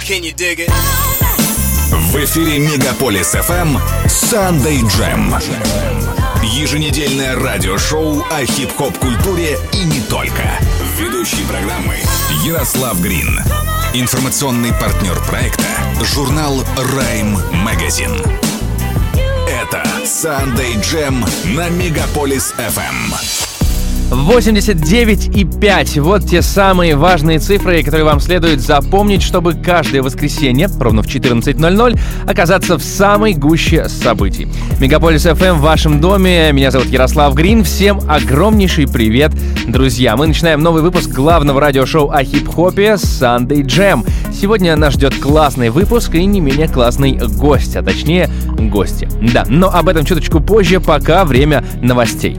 Can you dig it? В эфире Мегаполис FM Sunday Jam. Еженедельное радиошоу о хип-хоп-культуре и не только. Ведущий программы Ярослав Грин. Информационный партнер проекта журнал Rhyme Magazine. Это Sunday Jam на Мегаполис FM. 89,5. Вот те самые важные цифры, которые вам следует запомнить, чтобы каждое воскресенье, ровно в 14:00, оказаться в самой гуще событий. Мегаполис FM в вашем доме. Меня зовут Ярослав Грин. Всем огромнейший привет, друзья. Мы начинаем новый выпуск главного радиошоу о хип-хопе Sunday Jam. Сегодня нас ждет классный выпуск и не менее классный гость, а точнее гости. Да, но об этом чуточку позже, пока время новостей.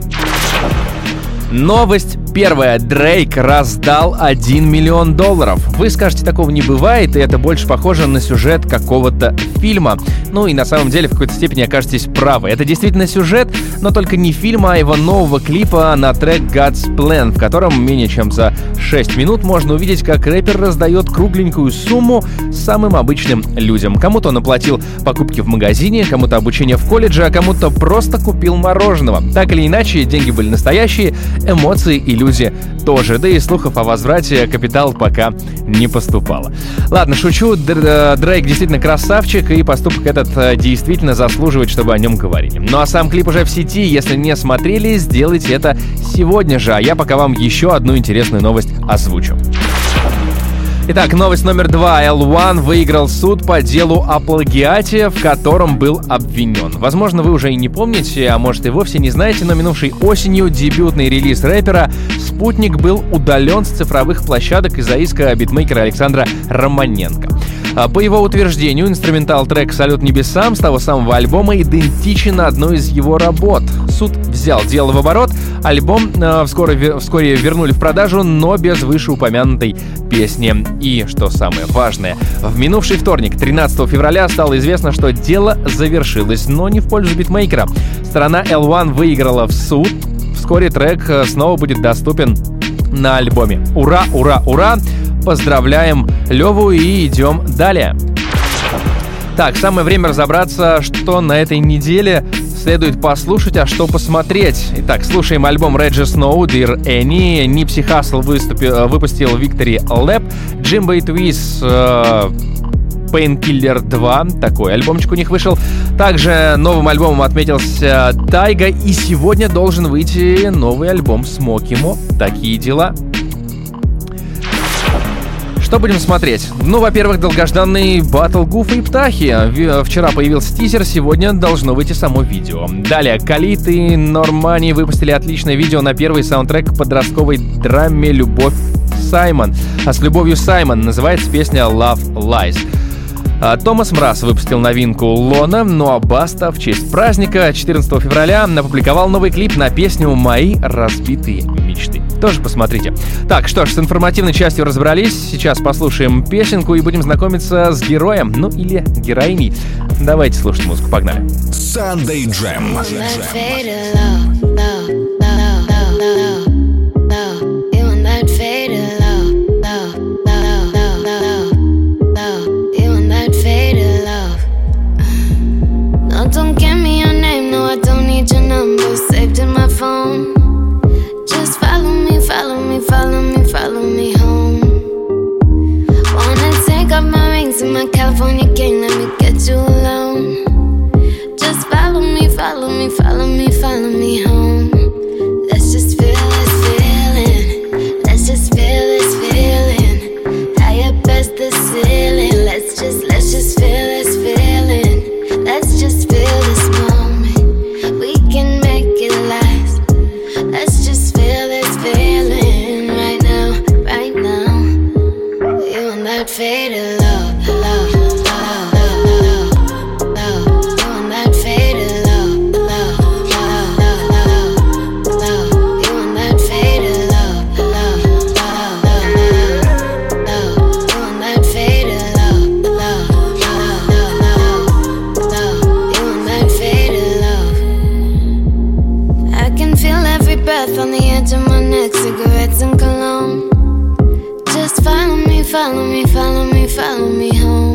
Новость первая. Дрейк раздал $1 миллион. Вы скажете, такого не бывает, и это больше похоже на сюжет какого-то фильма. Ну и на самом деле в какой-то степени окажетесь правы. Это действительно сюжет, но только не фильма, а его нового клипа на трек God's Plan, в котором менее чем за 6 минут можно увидеть, как рэпер раздает кругленькую сумму самым обычным людям. Кому-то он оплатил покупки в магазине, кому-то обучение в колледже, а кому-то просто купил мороженого. Так или иначе, деньги были настоящие, эмоции и люди тоже. Да и слухов о возврате капитала пока не поступало. Ладно, шучу. Дрейк действительно красавчик, и поступок этот действительно заслуживает, чтобы о нем говорили. Ну а сам клип уже в сети. Если не смотрели, сделайте это сегодня же. А я пока вам еще одну интересную новость озвучу. Итак, новость номер 2. L1 выиграл суд по делу о плагиате, в котором был обвинен. Возможно, вы уже и не помните, а может и вовсе не знаете, но минувшей осенью дебютный релиз рэпера «Спутник» был удален с цифровых площадок из-за иска битмейкера Александра Романенко. По его утверждению, инструментал-трек «Салют небесам» с того самого альбома идентичен одной из его работ. Суд взял дело в оборот, альбом вскоре вернули в продажу, но без вышеупомянутой песни. И, что самое важное, в минувший вторник, 13 февраля, стало известно, что дело завершилось, но не в пользу битмейкера. Сторона L1 выиграла в суд. Вскоре трек снова будет доступен на альбоме. Ура, ура, ура! Поздравляем Леву и идем далее. Так, самое время разобраться, что на этой неделе следует послушать, а что посмотреть. Итак, слушаем альбом Reggie Snow, Dear Annie. Nipsey Hussle выпустил Victory Lap. Jimbo и Twiz Painkiller 2. Такой альбомчик у них вышел. Также новым альбомом отметился Тайга. И сегодня должен выйти новый альбом Смоки Мо. Такие дела. Что будем смотреть? Ну, во-первых, долгожданный баттл Гуфа и Птахи. Вчера появился тизер, сегодня должно выйти само видео. Далее, Khalid и Normani выпустили отличное видео на первый саундтрек к подростковой драме «Любовь Саймон». А с «Любовью Саймон» называется песня «Love Lies». Томас Мраз выпустил новинку «Лона», ну а Баста в честь праздника 14 февраля опубликовал новый клип на песню «Мои разбитые мечты». Тоже посмотрите. Так, что ж, с информативной частью разобрались. Сейчас послушаем песенку и будем знакомиться с героем, ну или героиней. Давайте слушать музыку, погнали. Sunday Jam. Don't give me your name, no, I don't need your number saved in my phone. Just follow me, follow me, follow me, follow me home. Wanna take off my rings and my California king, let me get you alone. Just follow me, follow me, follow me, follow me home. Let's just feel this feeling. Let's just feel this feeling. High up as the ceiling. Let's just feel this feeling. Let's just feel this moment. We can make it last. Let's just feel this feeling right now, right now. You and that faded love, love, love, love, love. You and that faded love, love, love, love, love. You and that faded love, love, love, love, love. You and that faded love, love, love, love, love. You and that faded love. I can feel every breath on the edge of my neck, cigarettes and cologne. Just follow me, follow me, follow me, follow me home.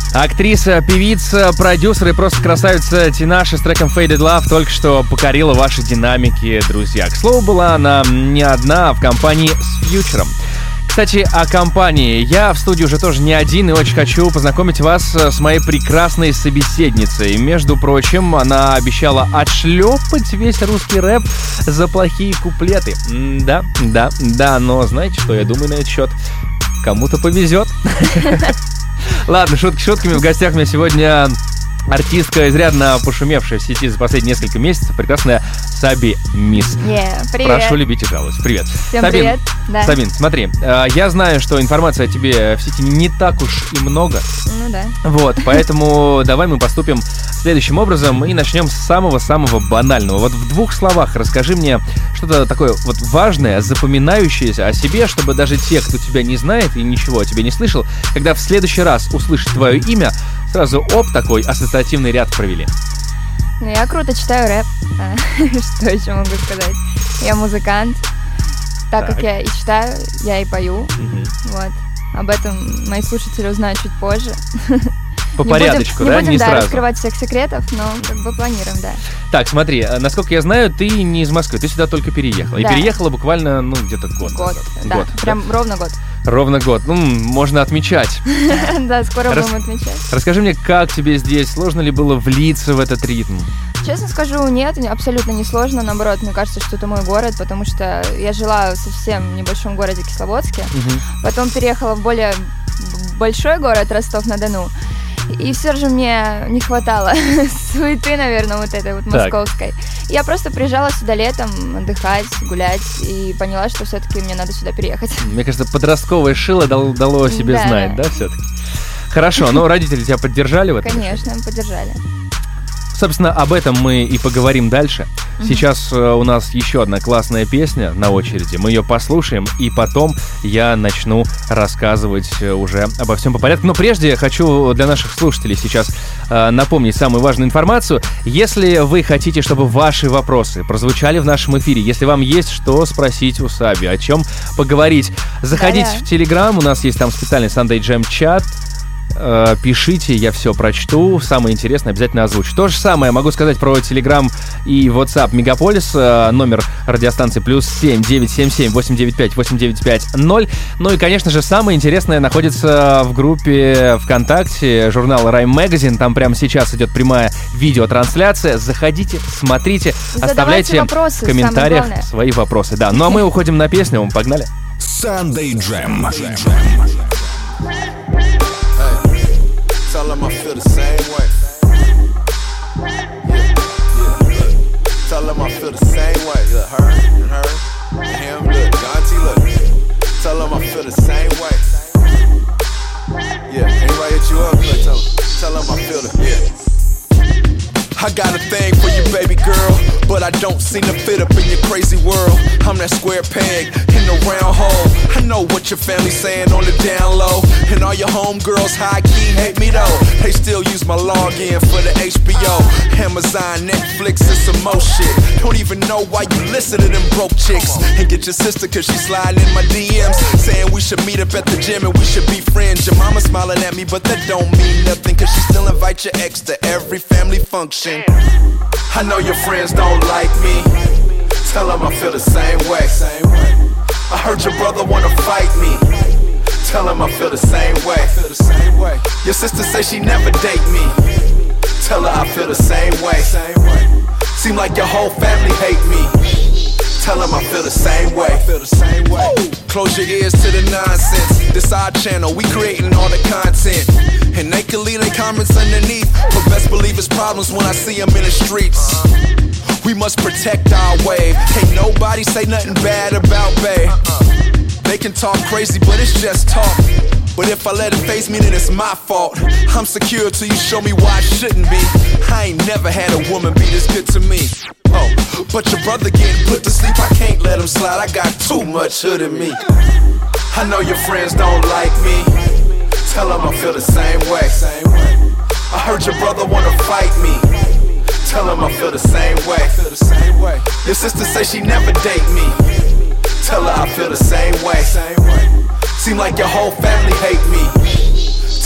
Актриса, певица, продюсер и просто красавица Тинаша с треком Faded Love только что покорила ваши динамики, друзья. К слову, была она не одна, а в компании с Фьючером. Кстати, о компании. Я в студии уже тоже не один и очень хочу познакомить вас с моей прекрасной собеседницей. Между прочим, она обещала отшлепать весь русский рэп за плохие куплеты. Да, но знаете, что я думаю на этот счет? Кому-то повезет. Ладно, шутки шутками. В гостях у меня сегодня артистка, изрядно пошумевшая в сети за последние несколько месяцев, прекрасная Саби Мисс. Привет. Прошу любить и жаловать. Привет. Всем Сабин, привет. Да. Сабин, смотри, я знаю, что информации о тебе в сети не так уж и много. Ну да. Вот, поэтому давай мы поступим следующим образом и начнем с самого-самого банального. Вот в 2 словах расскажи мне что-то такое вот важное, запоминающееся о себе, чтобы даже те, кто тебя не знает и ничего о тебе не слышал, когда в следующий раз услышат твое имя, сразу такой ассоциативный ряд провели. Ну, я круто читаю рэп. Что еще могу сказать? Я музыкант. Так как я и читаю, я и пою. Вот. Об этом мои слушатели узнают чуть позже. По порядочку, да? Не будем, сразу. раскрывать всех секретов, но как бы планируем, да. Так, смотри, насколько я знаю, ты не из Москвы, ты сюда только переехала. Да. И переехала буквально, где-то год назад. Да, прям ровно год. Ровно год. Можно отмечать. Да, скоро будем отмечать. Расскажи мне, как тебе здесь? Сложно ли было влиться в этот ритм? Честно скажу, нет, абсолютно не сложно. Наоборот, мне кажется, что это мой город, потому что я жила в совсем небольшом городе Кисловодске. Потом переехала в более большой город Ростов-на-Дону. И все же мне не хватало суеты, наверное, вот этой вот московской. Я просто приезжала сюда летом отдыхать, гулять, и поняла, что все-таки мне надо сюда переехать. Мне кажется, подростковое шило дало о себе знать, да, все-таки? Хорошо, но родители тебя поддержали в этом? Конечно, поддержали. Собственно, об этом мы и поговорим дальше. Сейчас у нас еще одна классная песня на очереди. Мы ее послушаем, и потом я начну рассказывать уже обо всем по порядку. Но прежде хочу для наших слушателей сейчас напомнить самую важную информацию. Если вы хотите, чтобы ваши вопросы прозвучали в нашем эфире, если вам есть что спросить у Саби, о чем поговорить, заходите в Telegram, у нас есть там специальный Sunday Jam чат. Пишите, я все прочту. Самое интересное обязательно озвучу. То же самое могу сказать про Telegram и WhatsApp Мегаполис. Номер радиостанции +7 977 895 8950. Ну и, конечно же, самое интересное находится в группе ВКонтакте журнала Rhyme Magazine. Там прямо сейчас идет прямая видеотрансляция. Заходите, смотрите, оставляйте в комментариях свои вопросы. Да, ну а мы уходим на песню. Погнали. Sunday Jam. Tell them I feel the same way. Look. Tell them I feel the same way. Look, her, and him, look, Auntie, look. Tell them I feel the same way. Yeah, anybody hit you up? Look, tell them I feel the, I got a thing for you, baby girl, but I don't seem to fit up in your crazy world. I'm that square peg in the round hole. I know what your family's saying on the down low, and all your homegirls high-key hate me though. They still use my login for the HBO, Amazon, Netflix, and some more shit. Don't even know why you listen to them broke chicks. And get your sister cause she's sliding in my DMs, saying we should meet up at the gym and we should be friends. Your mama smiling at me, but that don't mean nothing, cause she still invite your ex to every family function. I know your friends don't like me. Tell them I feel the same way. I heard your brother wanna fight me. Tell him I feel the same way. Your sister say she never date me. Tell her I feel the same way. Seem like your whole family hate me. Tell them I feel the same way. Close your ears to the nonsense. This our channel, we creating all the content. And they can leave their comments underneath, but best believe it's problems when I see them in the streets. We must protect our wave. Can't nobody say nothing bad about bae. They can talk crazy, but it's just talk. But if I let it face me, then it's my fault. I'm secure till you show me why I shouldn't be. I ain't never had a woman be this good to me. Oh, but your brother getting put to sleep, I can't let him slide. I got too much hood in me. I know your friends don't like me. Tell them I feel the same way. I heard your brother wanna fight me. Tell him I feel the same way. Your sister say she never date me. Tell her I feel the same way. Seem like your whole family hate me. Tell him I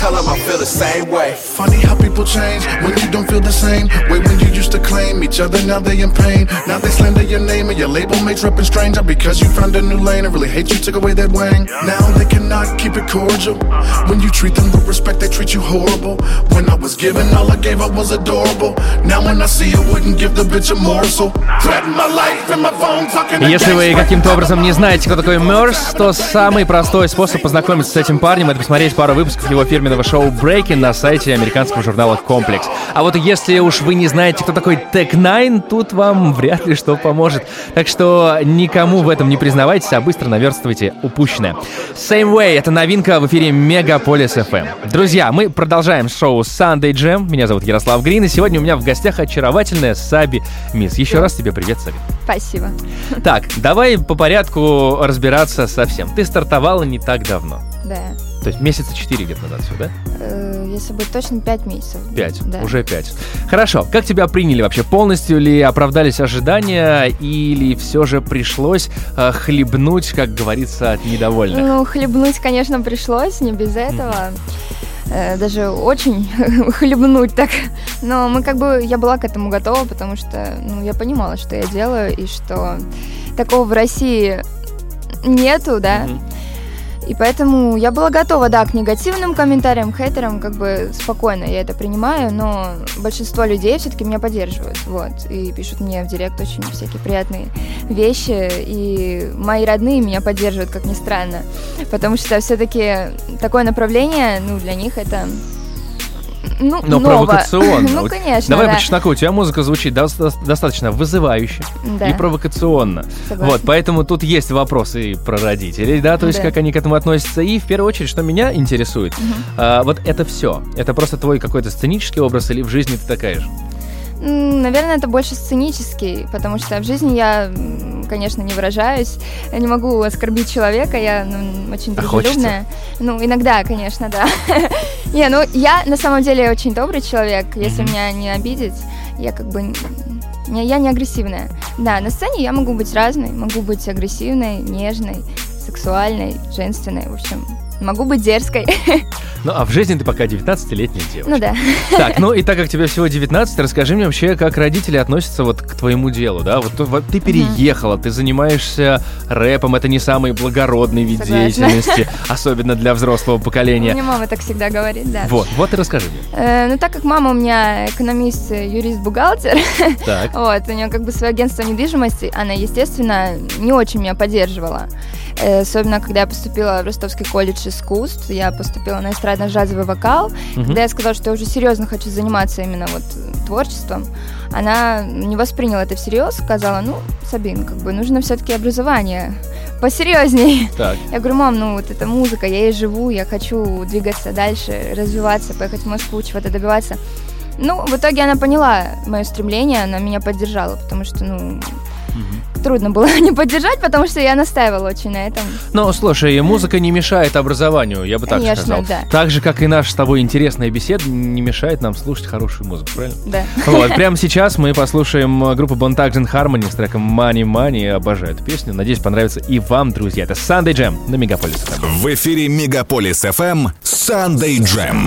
feel the same way. Funny how people change when you don't feel the same way. When you used to claim each other, now they in pain. Now they slander your name and your label mates ripping strange. Because you found a new lane, I really hate you took away that wang. Now they cannot keep it cordial. When you treat them with respect, they treat you horrible. When I was given, all I gave up was adorable. Now when I see you, wouldn't give the bitch a morsel. Threaten my life and my phone talking. Если вы каким-то образом не знаете, кто такой Murs, то самый простой способ познакомиться с этим парнем — это посмотреть пару выпусков его фирменного шоу Breaking на сайте американского журнала Complex. А вот если уж вы не знаете, кто такой Tech Nine, тут вам вряд ли что поможет. Так что никому в этом не признавайтесь, а быстро наверстывайте упущенное. Same Way — это новинка в эфире Мегаполис FM. Друзья, мы продолжаем шоу Sunday Jam. Меня зовут Ярослав Грин, и сегодня у меня в гостях очаровательная Саби Мисс. Еще раз тебе привет, Саби. Спасибо. Так, давай по порядку разбираться со всем. Ты стартовала не так давно. Да. То есть месяца 4 где-то назад все, да? Если быть точно, 5 месяцев. 5, да. Уже 5. Хорошо, как тебя приняли вообще? Полностью ли оправдались ожидания, или все же пришлось хлебнуть, как говорится, от недовольных? Ну, хлебнуть, конечно, пришлось, не без этого. Даже очень хлебнуть так. Но я была к этому готова, потому что я понимала, что я делаю, и что такого в России нету, да. И поэтому я была готова, да, к негативным комментариям, к хейтерам, спокойно я это принимаю, но большинство людей все-таки меня поддерживают, вот, и пишут мне в директ очень всякие приятные вещи, и мои родные меня поддерживают, как ни странно, потому что все-таки такое направление, для них это... Но ново. Провокационно. Ну, конечно, Давай да. по чесноку. У тебя музыка звучит достаточно вызывающе, да, и провокационно. Согласна. Вот, поэтому тут есть вопросы про родителей, да, то есть как они к этому относятся. И в первую очередь, что меня интересует, вот это все. Это просто твой какой-то сценический образ или в жизни ты такая же? Наверное, это больше сценический, потому что в жизни я, конечно, не выражаюсь, я не могу оскорбить человека, я очень дружелюбная. Иногда, конечно, да. Я на самом деле очень добрый человек, если меня не обидеть, я не агрессивная. Да, на сцене я могу быть разной, могу быть агрессивной, нежной, сексуальной, женственной, в общем, могу быть дерзкой. Ну, а в жизни ты пока 19-летняя девочка. Ну да. Так, и так как тебе всего 19, расскажи мне вообще, как родители относятся вот к твоему делу, да? Вот ты переехала, ты занимаешься рэпом, это не самый благородный вид деятельности, особенно для взрослого поколения. Мне мама так всегда говорит, да. Вот и расскажи мне. Так как мама у меня экономист, юрист, бухгалтер, вот, у нее свое агентство недвижимости, она, естественно, не очень меня поддерживала. Особенно, когда я поступила в Ростовский колледж искусств, я поступила на эстрадно-джазовый вокал. Когда я сказала, что я уже серьезно хочу заниматься именно творчеством, она не восприняла это всерьез, сказала, Сабин, нужно все-таки образование посерьезней. Так. Я говорю, мам, это музыка, я ей живу, я хочу двигаться дальше, развиваться, поехать в Москву, чего-то добиваться. В итоге она поняла мое стремление, она меня поддержала, потому что, трудно было не поддержать, потому что я настаивала очень на этом. Слушай, музыка не мешает образованию, я бы так сказал. Да. Так же, как и наша с тобой интересная беседа не мешает нам слушать хорошую музыку, правильно? Да. Вот, прямо сейчас мы послушаем группу Bone Thugs-n-Harmony с треком Money Money. Обожаю эту песню, надеюсь, понравится и вам, друзья. Это Sunday Jam на Мегаполис FM. В эфире Мегаполис FM Sunday Jam.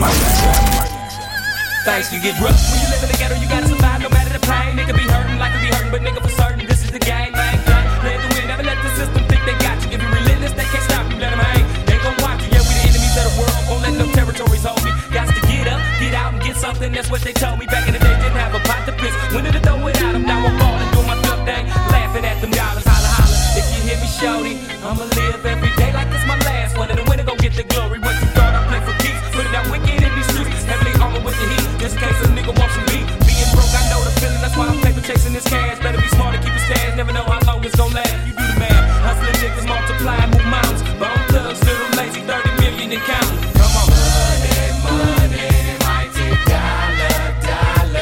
Things can get rough when you live in the ghetto. You gotta survive no matter the pain. Nigga be hurting like we be hurting, but nigga for certain this is the game. Bang bang, play the win. Never let the system think they got you. If you relentless, they can't stop you. Let them hang. They gon' watch you. Yeah, we the enemies of the world. Won't let no territories hold me. Got to get up, get out and get something. That's what they told me back in the day. Didn't have a pot to piss. When did it throw it out? I'm now I'm falling, doing my thug thing, laughing at them dollars. Holla holla. If you hear me, shorty, I'ma live every day like it's my last one. And the winner gon' get the glory. What you thought I play for keeps? Put it out wicked in these streets. Heavily armored with the heat. Just in case a nigga wants some beat. Being broke, I know the feeling. That's why I'm paper chasing this cash. Better be smart and keep it stash. Never know how long it's gon' last. You do the math. Hustling niggas multiply, move mountains. Bone thugs, little lazy, 30 million and counting. Come on. Money, money, mighty dollar, dollar.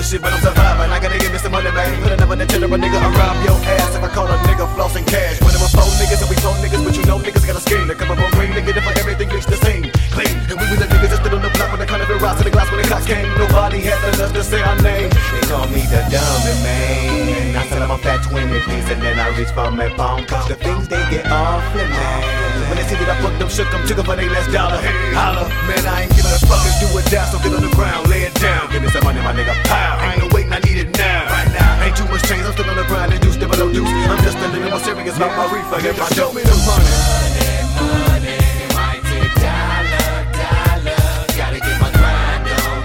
shit, but I'm surviving. I gotta give me some money, man. Put another nigga a nigga, I'll rob your ass if I call a nigga flossing cash. When it was 4 niggas and we 4 niggas, but you know niggas got a scheme. They come up on green, nigga, for everything bleach the same. Clean, and we the niggas that stood on the block when the kind of rise to the glass when the cops came. Nobody had the nerve to say our name. They call me the dummy man. I tell them I'm fat 20 piece and then I reach for my phone. Cause the things they get awfully mad. When they see that I fucked them, shook them, took them for they last dollar. Hey, holla, man, I ain't giving a fuck if do or die, so get on the ground, lay it down. Give me some money, my nigga, pow. I ain't no waiting, I need it now. Right now, ain't too much change, I'm still on the grind and do still below deuce. I'm just a little more serious about my reefer. Get my dope, the money. Money, might take dollar, gotta get my grind on.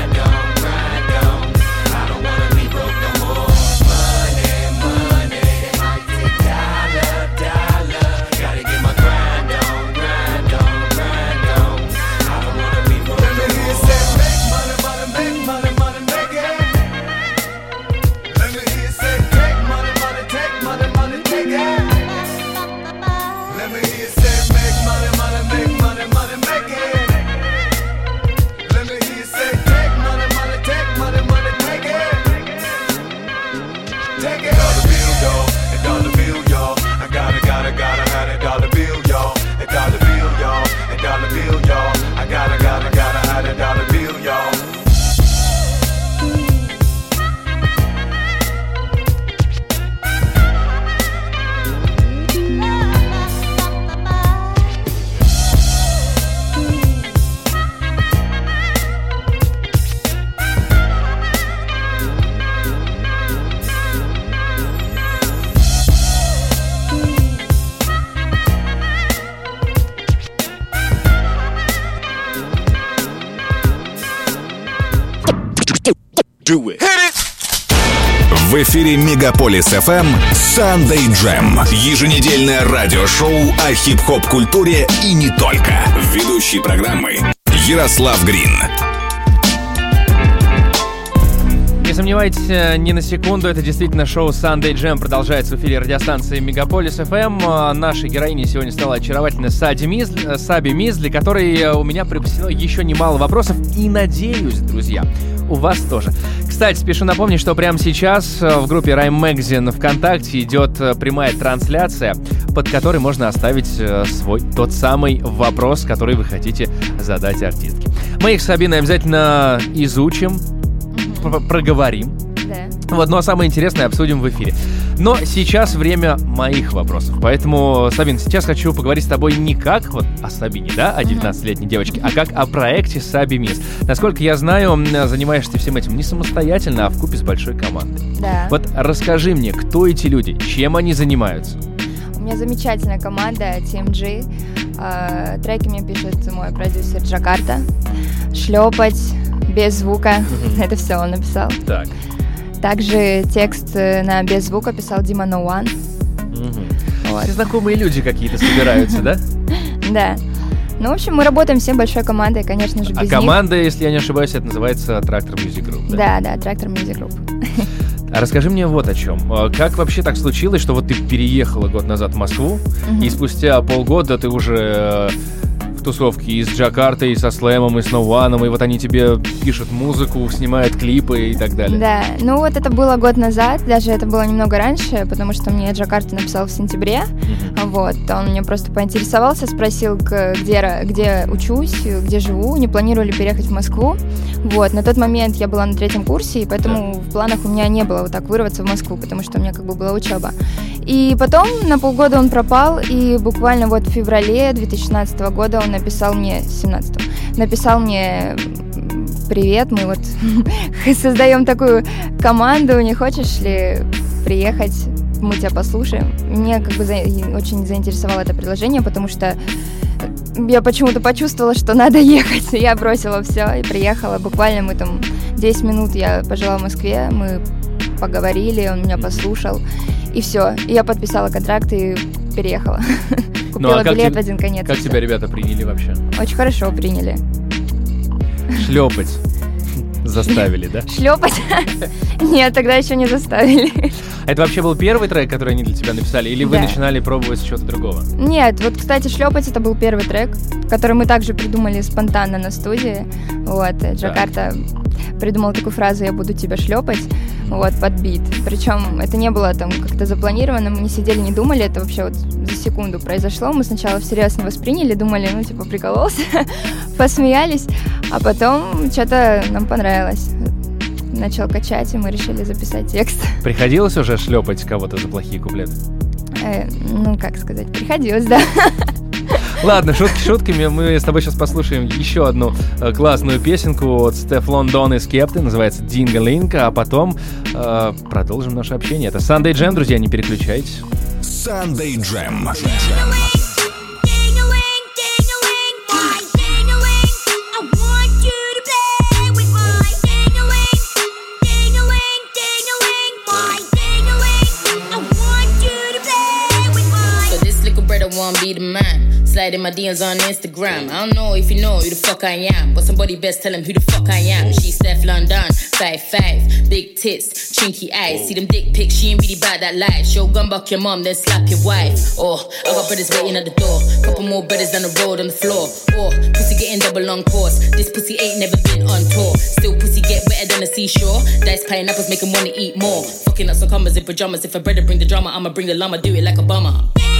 I don't wanna be broke no more. Money, might take dollar, gotta get my grind on. I don't wanna be broke no more. Let me hear you say, make money, make it. Let me hear you say, take money, take it. Let me hear you say, make money, make it. Let me hear you say, take money, take it. Take it. Dollar bill, y'all, and dollar bill, y'all. I gotta have that dollar bill, y'all. And dollar bill, y'all, and dollar bill, y'all. I gotta have that dollar bill, y'all. Do it. В эфире Мегаполис FM Sunday Jam. Еженедельное радиошоу о хип-хоп-культуре и не только. Ведущий программы Ярослав Грин. Не сомневайтесь ни на секунду, это действительно шоу Sunday Jam продолжается в эфире радиостанции Мегаполис FM. Нашей героиней сегодня стала очаровательная Саби Мизли, которой у меня припасено еще немало вопросов. И надеюсь, друзья, у вас тоже. Кстати, спешу напомнить, что прямо сейчас в группе Rhyme Magazine ВКонтакте идет прямая трансляция, под которой можно оставить свой тот самый вопрос, который вы хотите задать артистке. Мы их с Сабиной обязательно изучим, проговорим. Да. Вот, ну а самое интересное обсудим в эфире. Но сейчас время моих вопросов. Поэтому, Сабин, сейчас хочу поговорить с тобой не как вот о Сабине, да, о 19-летней девочке, а как о проекте Саби Мисс. Насколько я знаю, занимаешься всем этим не самостоятельно, а вкупе с большой командой. Да. Вот расскажи мне, кто эти люди, чем они занимаются? У меня замечательная команда TMG. Треки мне пишет мой продюсер Джакарта. Шлепать без звука. Это все он написал. Так. Также текст на без звука писал Дима No One. Вот. Все знакомые люди какие-то собираются, да? Да. Ну, в общем, мы работаем всей большой командой, конечно же, без них. А команда, если я не ошибаюсь, это называется Tractor Music Group, да? Да, Tractor Music Group. А расскажи мне вот о чем. Как вообще так случилось, что вот ты переехала год назад в Москву, и спустя полгода ты уже в тусовке и с Джакартой, и со Слэмом, и с Ноуаном, и вот они тебе пишут музыку, снимают клипы и так далее. Да, ну вот это было год назад, даже это было немного раньше, потому что мне Джакарта написал в сентябре, вот, он меня просто поинтересовался, спросил, где учусь, где живу, не планирую ли переехать в Москву, вот, на тот момент я была на 3-м курсе, и поэтому в планах у меня не было вот так вырваться в Москву, потому что у меня как бы была учеба. И потом на полгода он пропал, и буквально вот в феврале 2016 года он написал мне, 17-го, написал мне: привет, мы вот создаем такую команду, не хочешь ли приехать, мы тебя послушаем. Мне как бы очень заинтересовало это предложение, потому что я почему-то почувствовала, что надо ехать. Я бросила все и приехала. Буквально мы там 10 минут я пожила в Москве, мы поговорили, он меня послушал, и все. И я подписала контракт и переехала. Купила билет в один конец. Как тебя ребята приняли вообще? Очень хорошо приняли. Шлепать заставили, да? Шлепать? Нет, тогда еще не заставили. Это вообще был первый трек, который они для тебя написали? Или вы начинали пробовать с чего-то другого? Нет, вот, кстати, «Шлепать» — это был первый трек, который мы также придумали спонтанно на студии. Вот, Джакарта придумала такую фразу «я буду тебя шлепать», вот, под бит. Причем это не было там как-то запланировано, мы не сидели, не думали, это вообще вот за секунду произошло. Мы сначала всерьез не восприняли, думали, ну, типа, прикололся, посмеялись, а потом что-то нам понравилось. Начал качать, и мы решили записать текст. Приходилось уже шлепать кого-то за плохие куплеты? Ну, как сказать, приходилось, да. Ладно, шутки шутками. Мы с тобой сейчас послушаем еще одну классную песенку от Stefflon Don и Skepta, называется «Ding-a-Ling», а потом продолжим наше общение. Это Sunday Jam, друзья, не переключайтесь. Sunday Jam. Wanna be the man, sliding my DMs on Instagram. I don't know if you know who the fuck I am, but somebody best tell him who the fuck I am. She's Stefflon Don, 5'5", big tits, chinky eyes. See them dick pics, she ain't really bad that life. Show gun buck your mom, then slap your wife. Oh, I got brothers waiting at the door, couple more brothers down the road on the floor. Oh, pussy getting double on course. This pussy ain't never been on tour. Still pussy get wetter than the seashore. Dice pineapples make him wanna eat more. Fucking up some commas in pajamas. If a brother bring the drama, I'ma bring the llama. Do it like Obama.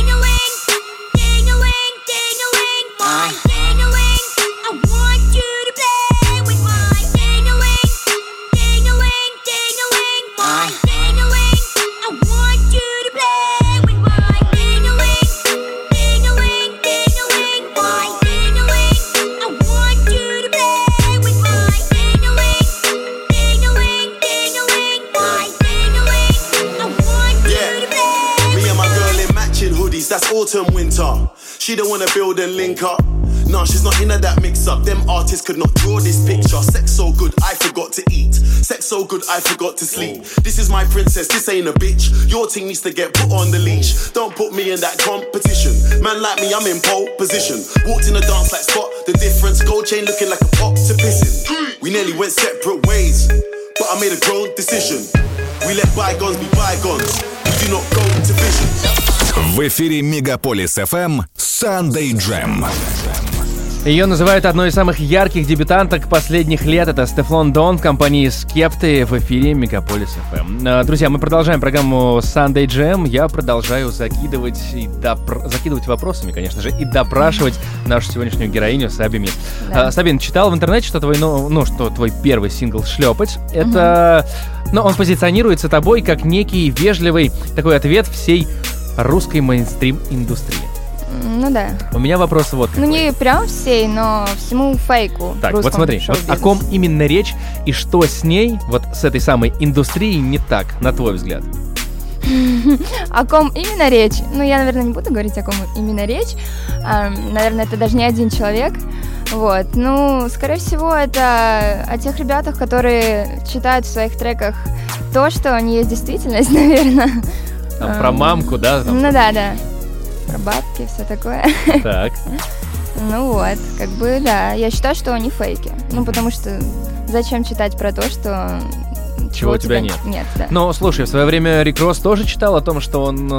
I want you to play with my ding-a-ling, ding-a-ling, ding-a-ling, my ding-a-ling. I want you to play with my ding-a-ling, ding-a-ling, ding-a-ling, my ding-a-ling. I want you to play with my ding-a-ling, ding-a-ling, ding-a-ling, my ding-a-ling. I want you to play. Me and my girl in matching hoodies, that's autumn, winter. She don't wanna build and link up. Nah, she's not into that mix-up. Them artists could not draw this picture. Sex so good, I forgot to eat. Sex so good, I forgot to sleep. This is my princess, this ain't a bitch. Your team needs to get put on the leash. Don't put me in that competition. Man like me, I'm in pole position. Walked in the dance like spot the difference. Gold chain looking like a pop to pissing. We nearly went separate ways, but I made a grown decision. We let bygones be bygones. We do not go to vision. В эфире Мегаполис FM Sunday Jam. Ее называют одной из самых ярких дебютанток последних лет. Это Stefflon Don в компании Skepta в эфире Мегаполис FM. Друзья, мы продолжаем программу Sunday Jam. Я продолжаю закидывать вопросами, конечно же, и допрашивать нашу сегодняшнюю героиню Саби Мисс. Да. Сабин, читал в интернете, что твой первый сингл «Шлепать» — это... Но он позиционируется тобой как некий вежливый такой ответ всей русской мейнстрим-индустрии. Ну да. У меня вопрос вот какой. Ну не прям всей, но всему фейку. Так, вот смотри, вот о ком именно речь и что с ней, вот с этой самой индустрией не так, на твой взгляд? О ком именно речь? Ну, я, наверное, не буду говорить, о ком именно речь. Наверное, это даже не один человек. Вот. Ну, скорее всего, это о тех ребятах, которые читают в своих треках то, что не есть действительность, наверное. Там про мамку, да? Там... Ну да. Про бабки, все такое. Так. Ну вот, как бы, да. Я считаю, что они фейки. Ну, потому что зачем читать про то, что... Чего у тебя нет. Нет, да. Но, слушай, в свое время Рик Росс тоже читал о том, что он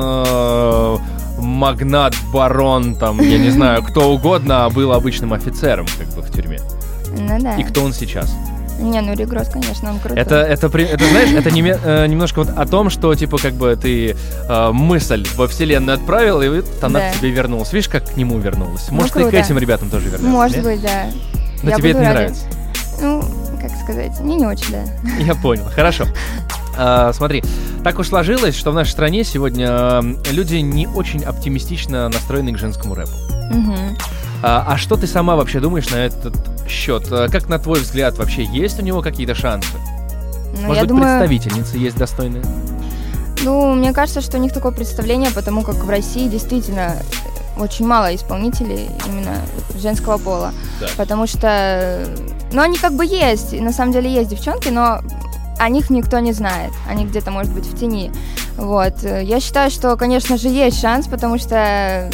магнат, барон, там, я не знаю, кто угодно, а был обычным офицером, как бы, в тюрьме. Ну да. И кто он сейчас? Не, ну Рик Росс, конечно, он крутой. Это знаешь, это немножко вот о том, что, типа, как бы ты мысль во вселенную отправил, и вот она к тебе вернулась. Видишь, как к нему вернулась? Может, ну, ты к этим ребятам тоже вернешься? Может быть, да. Но тебе это не нравится? Ну, как сказать, мне не очень, да. Я понял, хорошо. Смотри, так уж сложилось, что в нашей стране сегодня люди не очень оптимистично настроены к женскому рэпу. Угу. А что ты сама вообще думаешь на этот счет? Как, на твой взгляд, вообще есть у него какие-то шансы? Ну, Может быть, думаю... представительницы есть достойные? Ну, мне кажется, что у них такое представление, потому как в России действительно очень мало исполнителей именно женского пола. Так. Потому что... Ну, они как бы есть, на самом деле есть девчонки, но о них никто не знает. Они где-то, может быть, в тени. Вот. Я считаю, что, конечно же, есть шанс, потому что...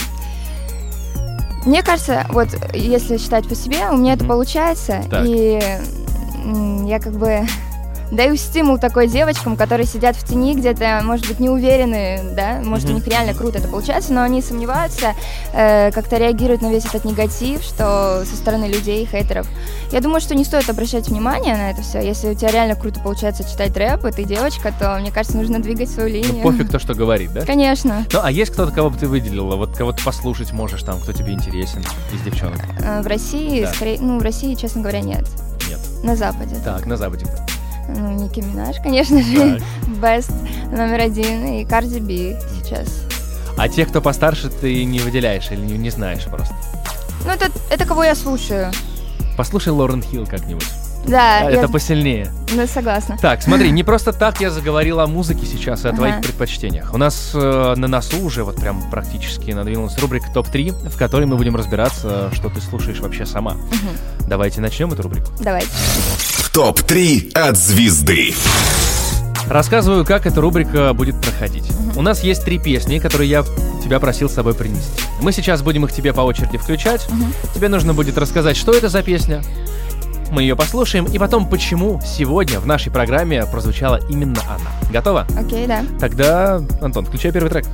Мне кажется, вот если считать по себе, у меня это получается, так. И я как бы даю стимул такой девочкам, которые сидят в тени, где-то, может быть, не уверены, да, может, у них реально круто это получается, но они сомневаются, как-то реагируют на весь этот негатив, что со стороны людей, хейтеров. Я думаю, что не стоит обращать внимание на это все. Если у тебя реально круто получается читать рэп, и ты девочка, то, мне кажется, нужно двигать свою линию. Пофиг то, что говорит, да? Конечно. Ну, а есть кто-то, кого бы ты выделила? Вот кого-то послушать можешь там, кто тебе интересен из девчонок? В России, скорее, в России, честно говоря, нет. Нет. На Западе. Так, на Западе кто? Ники Минаж, конечно же. Best №1 и Cardi B сейчас. А тех, кто постарше, ты не выделяешь или не знаешь просто? Ну, это кого я слушаю. Послушай Лорен Хилл как-нибудь. Да. Это посильнее. Да, согласна. Так, смотри, не просто так я заговорил о музыке сейчас и о твоих предпочтениях. У нас на носу уже вот прям практически надвинулась рубрика ТОП-3, в которой мы будем разбираться, что ты слушаешь вообще сама. Давайте начнем эту рубрику. Давайте. ТОП-3 от звезды. Рассказываю, как эта рубрика будет проходить. У нас есть 3 песни, которые я тебя просил с собой принести. Мы сейчас будем их тебе по очереди включать. Тебе нужно будет рассказать, что это за песня. Мы ее послушаем, и потом, почему сегодня в нашей программе прозвучала именно она. Готова? Окей, да. Тогда, Антон, включай первый трек.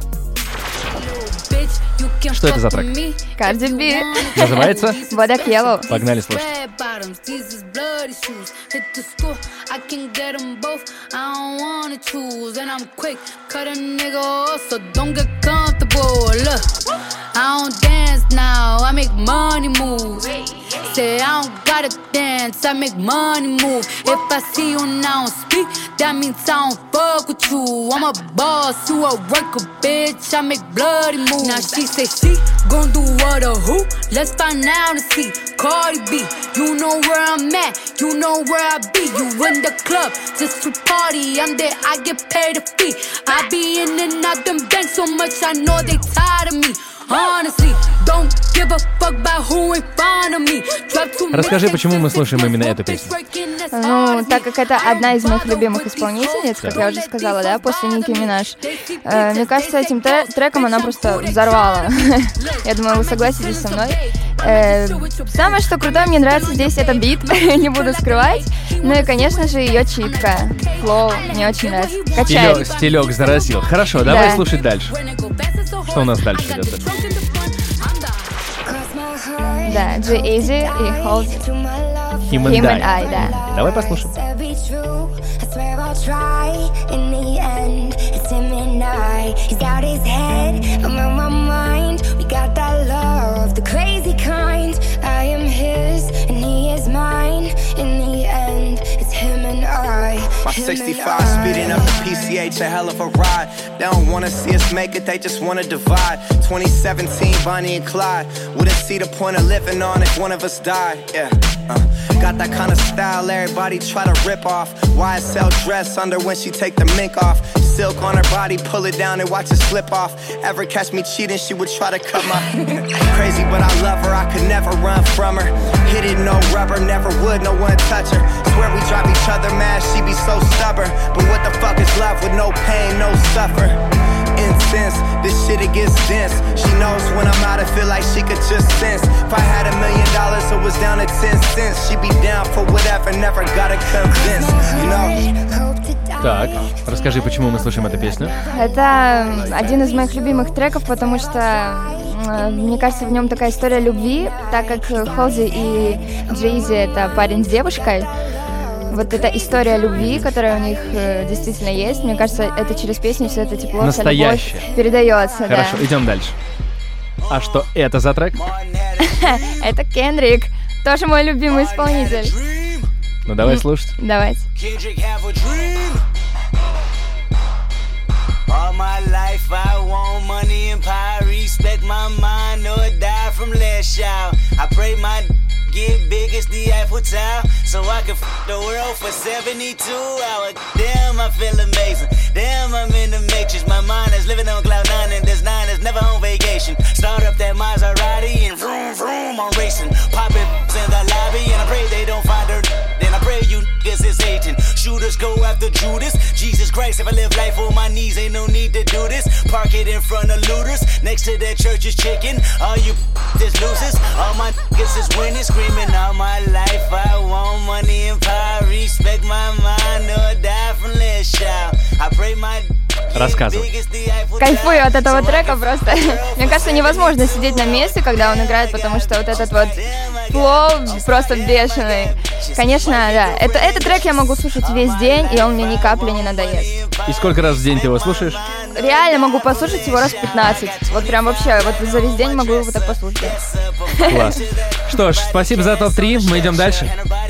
Что это за трек? Cardi B. Называется? Bodak Yellow. Погнали слушать. Say I don't gotta dance, I make money move. If I see you now speak, that means I don't fuck with you. I'm a boss, you a worker, bitch. I make bloody moves. Now she say she gon' do what or who? Let's find out and see. Cardi B, you know where I'm at, you know where I be. You in the club just to party. I'm there, I get paid a fee. I be in and out them banks so much, I know they tired of me. Honestly, don't give a fuck about who in front of me. Расскажи, почему мы слушаем именно эту песню? Ну, так как это одна из моих любимых исполнительниц, как я уже сказала, да, после Ники Минаж. Мне кажется, этим треком она просто взорвала. Я думаю, вы согласитесь со мной. Самое, что крутое мне нравится здесь, это бит, не буду скрывать. Ну и, конечно же, ее читка. Флоу мне очень нравится. Качает. Стилек заразил. Хорошо, давай слушать дальше. Что у нас дальше идет? Да, G-Eazy и Halsey. Him and I, да. Давай послушаем. My 65 speeding up the PCH, a hell of a ride. They don't wanna see us make it, they just wanna divide. 2017, Bonnie and Clyde. Wouldn't see the point of living on if one of us died. Yeah, got that kind of style everybody try to rip off. YSL dress under when she take the mink off. Silk on her body, pull it down and watch it slip off. Ever catch me cheating, she would try to cut my crazy, but I love her, I could never run from her. Hit it, no rubber, never would, no one touch her. Swear we drive each other mad, she be so stubborn. But what the fuck is love with no pain, no suffer? Incense, this shit it gets dense. She knows when I'm out, I feel like she could just sense. If I had $1 million, it was down to 10 cents. She be down for whatever, never gotta convince, you know? Так, расскажи, почему мы слушаем эту песню? Это один из моих любимых треков, потому что, мне кажется, в нем такая история любви, так как Halsey и G-Eazy — это парень с девушкой. Вот эта история любви, которая у них действительно есть, мне кажется, это через песню все это тепло, вся любовь передается. Хорошо, да. Идем дальше. А что это за трек? Это Kendrick, тоже мой любимый исполнитель. Ну давай слушать. Давайте. All my life I want money and power, respect my mind or die from last shout. I pray my get big as the Eiffel Tower, so I can f the world for 72 hours. Damn, I feel amazing. Damn, I'm in the matrix. My mind is living on cloud 9 and this 9 is never on vacation. Start up that Maserati and vroom vroom, I'm racing. Popping in the lobby and I pray they don't find her. Then I pray you niggas is hating. Shooters go after Judas. Jesus Christ, if I live life on my knees, ain't no need to do this. Park it in front of looters. Next to that church is chicken. All you just losers. All my niggas is winning. Screaming all my life. I want money and power. Respect my mind or Рассказывай. Кайфую от этого трека просто. Мне кажется, невозможно сидеть на месте, когда он играет, потому что вот этот вот флоу просто бешеный. Конечно, да. Этот трек я могу слушать весь день, и он мне ни капли не надоест. И сколько раз в день ты его слушаешь? Реально могу послушать его раз 15. Вот прям вообще, вот за весь день могу его так послушать. Класс. Что ж, спасибо за топ-3. Мы идем дальше.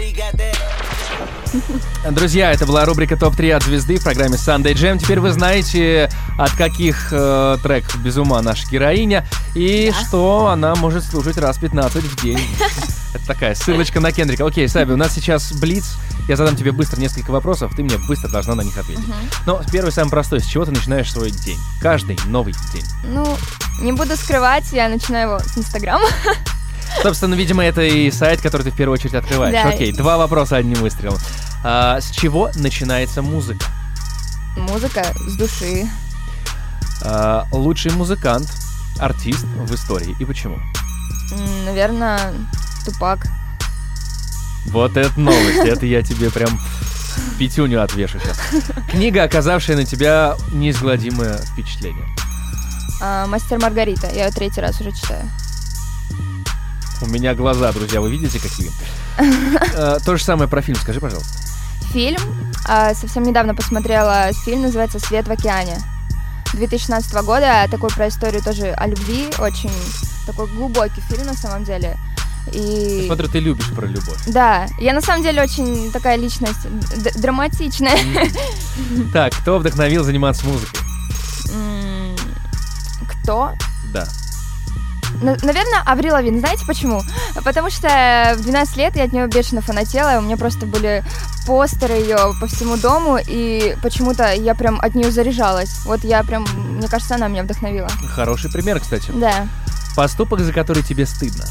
Друзья, это была рубрика ТОП-3 от звезды в программе Sunday Jam. Теперь вы знаете, от каких треков без ума наша героиня и что она может слушать раз 15 в день. Это такая ссылочка на Кендрика. Окей, Саби, у нас сейчас блиц. Я задам тебе быстро несколько вопросов, ты мне быстро должна на них ответить. Но первый, самый простой. С чего ты начинаешь свой день? Каждый новый день. Ну, не буду скрывать, я начинаю его с Инстаграма. Собственно, видимо, это и сайт, который ты в первую очередь открываешь. Да. Окей, 2 вопроса одним выстрелом. С чего начинается музыка? Музыка с души. Лучший музыкант, артист в истории и почему? Наверное, Тупак. Вот это новость, это я тебе прям пятюню отвешу сейчас. Книга, оказавшая на тебя неизгладимое впечатление. «Мастер и Маргарита». Я ее 3-й раз уже читаю. У меня глаза, друзья, вы видите какие? То же самое про фильм, скажи, пожалуйста. Фильм. Совсем недавно посмотрела фильм, называется «Свет в океане». 2016 года, такой про историю тоже о любви, очень такой глубокий фильм на самом деле. И... Я смотрю, ты любишь про любовь. Да, я на самом деле очень такая личность драматичная. Так, кто вдохновил заниматься музыкой? Кто? Да. Наверное, Аврил Лавин. Знаете почему? Потому что в 12 лет я от нее бешено фанатела, у меня просто были постеры ее по всему дому, и почему-то я прям от нее заряжалась. Вот я прям, мне кажется, она меня вдохновила. Хороший пример, кстати. Да. Поступок, за который тебе стыдно?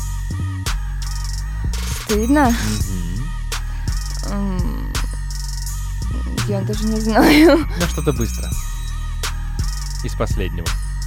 Стыдно? Я даже не знаю. Ну, что-то быстро. Из последнего.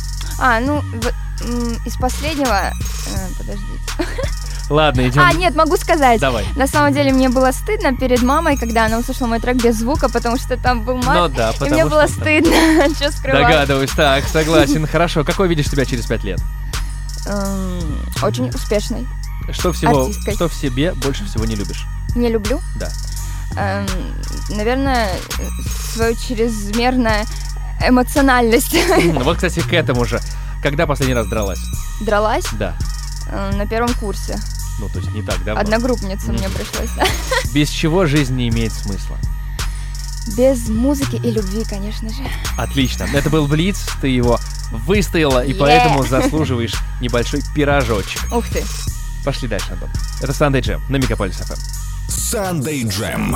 Из последнего... Подождите. Ладно, идем. Нет, могу сказать. Давай. На самом деле мне было стыдно перед мамой, когда она услышала мой трек без звука, потому что там был мат. Ну да, потому и мне было что... стыдно. Что скрывать? Догадываюсь. Так, согласен. Хорошо. Какой видишь себя через 5 лет? Очень успешной. Что в себе больше всего не любишь? Не люблю? Да. Наверное, свою чрезмерную эмоциональность. Вот, кстати, к этому же. Когда последний раз дралась? Дралась? Да. На 1 курсе. Ну, то есть не так давно. Одногруппница мне пришлось, да. Без чего жизнь не имеет смысла? Без музыки и любви, конечно же. Отлично. Это был Блиц, ты его выстояла, и поэтому заслуживаешь небольшой пирожочек. Ух ты. Пошли дальше, Антон. Это Sunday Jam на Мегаполис FM. Sunday Jam.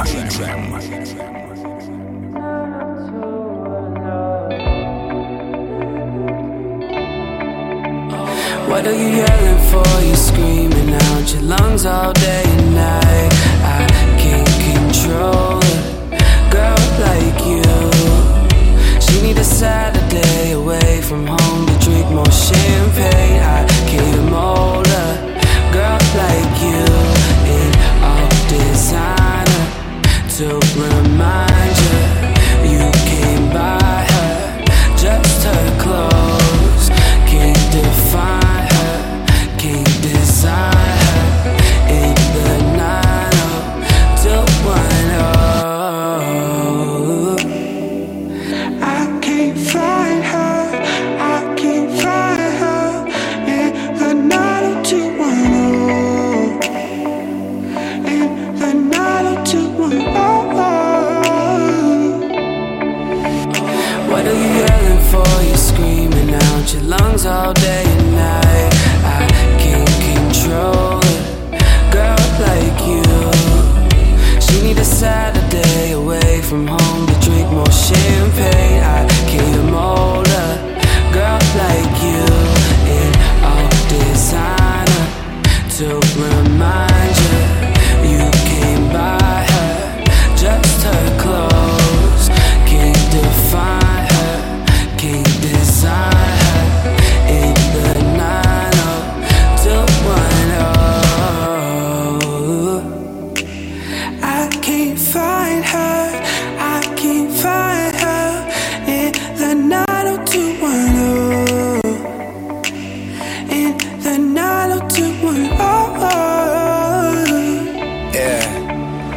What are you yelling for? You're screaming out your lungs all day and night. I can't control it, girl like you. She need a Saturday away from home to drink more champagne. I can't mold her, girl like you. In all designer to remind you, you came by her, just her clothes. Can't define. Desire in the 90210. I can't find her. I can't find her in the 90210. In the 90210. What are you yelling for? You're screaming out your lungs all day and night. I can't control it, girl like you. She need a Saturday away from home to drink more champagne. I can't mold her, girl like you. In all designer to remind you, you came by her, just her clothes. Can't define her, can't design her. In the 90210. I can't find her. I can't find her in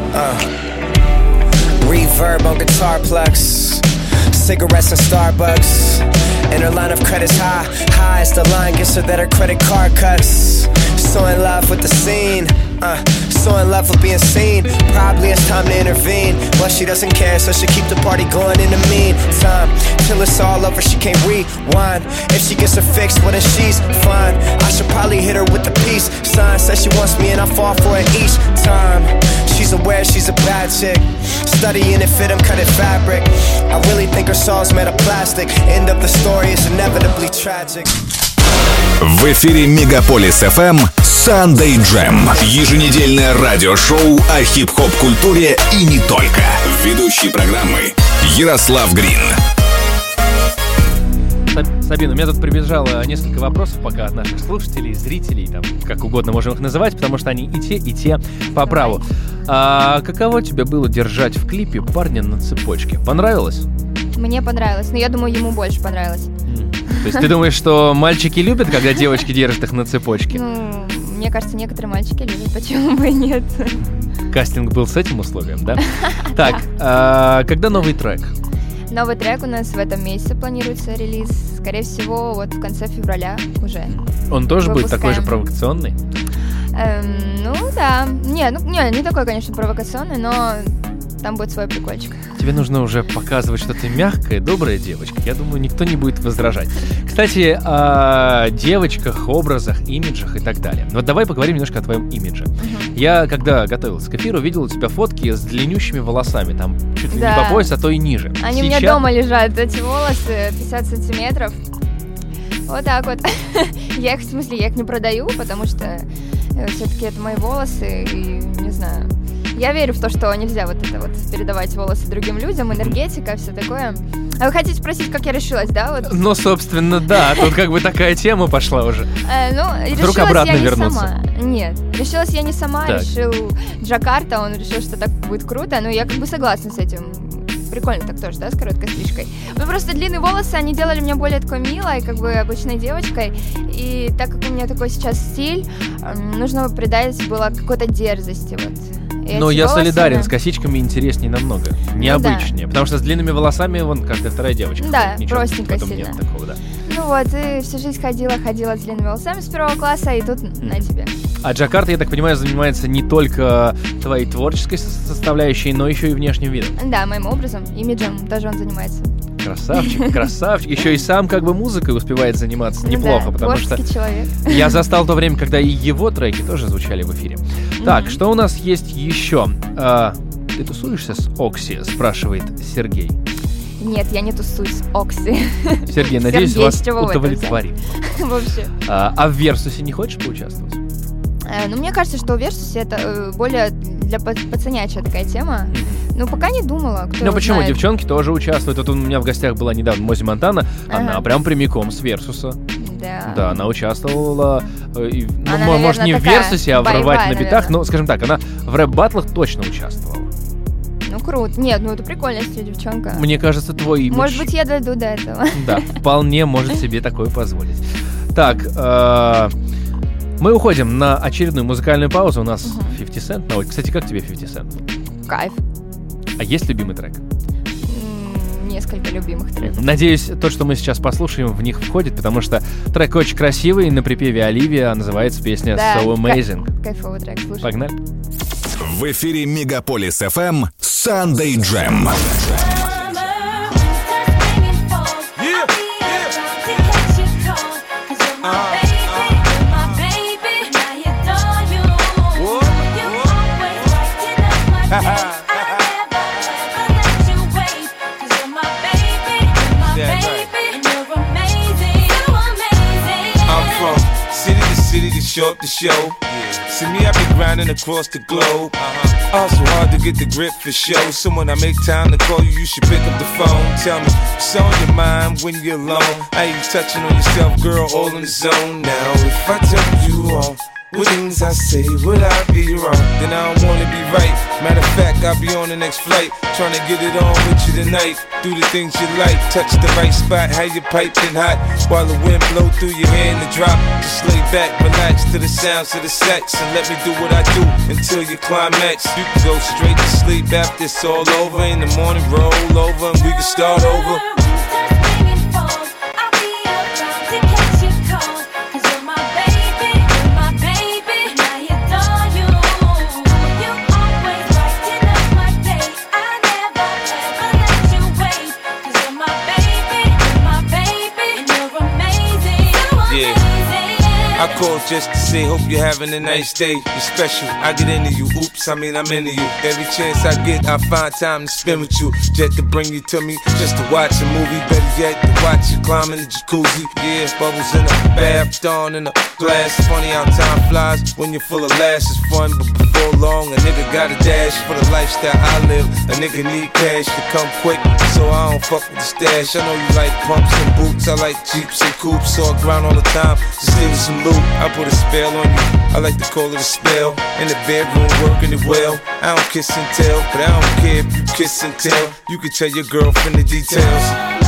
Reverb on guitar plugs, cigarettes and Starbucks, and her line of credit's high. High as the line gets her that her credit card cuts. So in love with the scene, so in love with being seen. Probably it's time to intervene, but she doesn't care, so she keep the party going in the meantime. Till it's all over, she can't rewind. If she gets her fix, well then she's fine. I should probably hit her with the peace sign. Says she wants me and I fall for it each time. She's aware she's a bad chick, studying it, fit 'em, cut it fabric. I really think her song's made of plastic. End of the story is inevitably tragic. В эфире Мегаполис FM Sunday Jam. Еженедельное радиошоу о хип-хоп-культуре и не только. Ведущий программы Ярослав Грин. Сабина, у меня тут прибежало несколько вопросов пока от наших слушателей, зрителей, там, как угодно можем их называть, потому что они и те по праву. А каково тебе было держать в клипе парня на цепочке? Понравилось? Мне понравилось, но я думаю, ему больше понравилось. То есть ты думаешь, что мальчики любят, когда девочки держат их на цепочке? Ну, мне кажется, некоторые мальчики любят, почему бы и нет. Кастинг был с этим условием, да? Так, когда новый трек? Новый трек у нас в этом месяце планируется релиз. Скорее всего, вот в конце февраля уже. Он тоже будет такой же провокационный? Ну да. Не такой, конечно, провокационный, но там будет свой прикольчик. Тебе нужно уже показывать, что ты мягкая, добрая девочка. Я думаю, никто не будет возражать. Кстати, о девочках, образах, имиджах и так далее. Вот давай поговорим немножко о твоем имидже. Я, когда готовился к эфиру, видел у тебя фотки с длиннющими волосами. Там чуть ли не по пояс, а то и ниже. Они у меня дома лежат, эти волосы, 50 сантиметров. Вот так вот. Я их не продаю, потому что все-таки это мои волосы, и не знаю. Я верю в то, что нельзя вот это вот передавать волосы другим людям, энергетика, все такое. А вы хотите спросить, как я решилась, да? Вот? Ну, собственно, да. Тут как бы такая тема пошла уже. Вдруг обратно вернуться. Нет, решилась я не сама, так. Решил Джакарта, он решил, что так будет круто, но я как бы согласна с этим. Прикольно так тоже, да, с короткой стрижкой. Но просто длинные волосы, они делали меня более такой милой, как бы обычной девочкой. И так как у меня такой сейчас стиль, нужно придать было какой-то дерзости, вот. Но я солидарен, с косичками интереснее намного, необычнее, потому что с длинными волосами вон каждая вторая девочка. Да, простенько сильно. Нет такого, да. Ну вот, и всю жизнь ходила с длинными волосами с первого класса, и тут на тебе. А Джакарта, я так понимаю, занимается не только твоей творческой составляющей, но еще и внешним видом. Да, моим образом, имиджем тоже он занимается. Красавчик, красавчик. Еще и сам как бы музыкой успевает заниматься неплохо, да, потому что человек. Я застал то время, когда и его треки тоже звучали в эфире. Так, что у нас есть еще? Ты тусуешься с Окси? Спрашивает Сергей. Нет, я не тусуюсь с Окси. Сергей, надеюсь, вас удовлетворит. Вообще. А в Версусе не хочешь поучаствовать? Ну, мне кажется, что в Версусе это более для пацанячая такая тема. Ну, пока не думала, кто Ну, почему? знает. Девчонки тоже участвуют. Вот у меня в гостях была недавно Мози Монтана. Она прям прямиком с Версуса. Да. Да, она участвовала, Она, может, не в такая Версусе, а в «Рвать на битах», наверное. но, скажем так, она в рэп-баттлах точно участвовала. Ну, круто. Нет, ну это прикольная девчонка. Мне кажется, твой имидж... Может быть, я дойду до этого. Да, вполне может себе такое позволить. Так, мы уходим на очередную музыкальную паузу. У нас 50 Cent. Кстати, как тебе 50 Cent? Кайф. А есть любимый трек? Несколько любимых треков. Надеюсь, то, что мы сейчас послушаем, в них входит, потому что трек очень красивый, на припеве Оливия, называется песня So Amazing. Кайфовый трек, слушай. Погнали. В эфире Мегаполис FM Sunday Jam. City to show up the show. See me, I be grinding across the globe. Also hard to get the grip for show. So when I make time to call you, you should pick up the phone. Tell me what's on your mind when you're alone. I ain't touching on yourself, girl, all in the zone now. If I tell you all with things I say, would I be wrong? Then I don't wanna be right. Matter of fact, I'll be on the next flight, trying to get it on with you tonight. Do the things you like, touch the right spot, have you piping hot, while the wind blow through your hair in the drop. Just lay back, relax to the sounds of the sax, and let me do what I do until you climax. You can go straight to sleep after it's all over. In the morning, roll over, and we can start over. I called just to say, hope you're having a nice day. You're special, I get into you. Oops, I mean I'm into you. Every chance I get, I find time to spend with you. Jet to bring you to me, just to watch a movie. Better yet, to watch you climb in the jacuzzi. Yeah, bubbles in the bath, dawn in the glass. Funny how time flies when you're full of laughs. It's fun, but before long, a nigga got a dash for the lifestyle I live. A nigga need cash to come quick, so I don't fuck with the stash. I know you like pumps and boots, I like Jeeps and coupes, so I grind all the time. Just leave some loot. I put a spell on you, I like to call it a spell. In the bedroom, working it well. I don't kiss and tell, but I don't care if you kiss and tell. You can tell your girlfriend the details.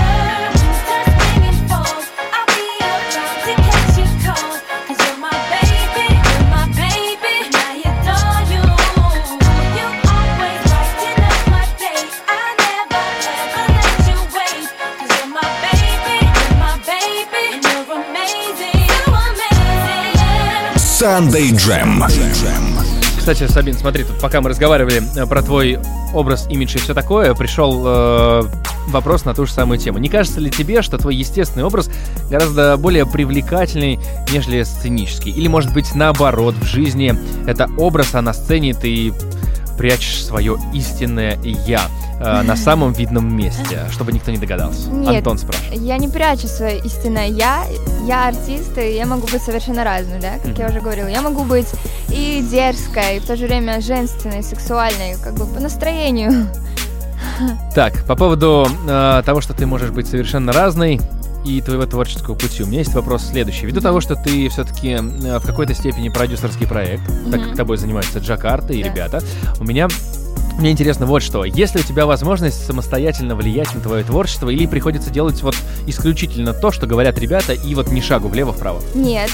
Sunday Jam. Кстати, Сабин, смотри, тут пока мы разговаривали про твой образ, имидж и все такое, пришел вопрос на ту же самую тему. Не кажется ли тебе, что твой естественный образ гораздо более привлекательный, нежели сценический? Или, может быть, наоборот, в жизни это образ, а на сцене ты прячешь свое истинное «я» на самом видном месте, чтобы никто не догадался? Нет, Антон спрашивает. Я не прячу свое истинное «я». Я артист, и я могу быть совершенно разной, да, как я уже говорила. Я могу быть и дерзкой, и в то же время женственной, сексуальной, как бы по настроению. Так, по поводу того, что ты можешь быть совершенно разной и твоего творческого пути, у меня есть вопрос следующий. Ввиду того, что ты все-таки в какой-то степени продюсерский проект, так как тобой занимаются Джакарта и ребята, мне интересно вот что. Есть ли у тебя возможность самостоятельно влиять на твое творчество, или приходится делать вот исключительно то, что говорят ребята, и вот ни шагу влево-вправо? Нет,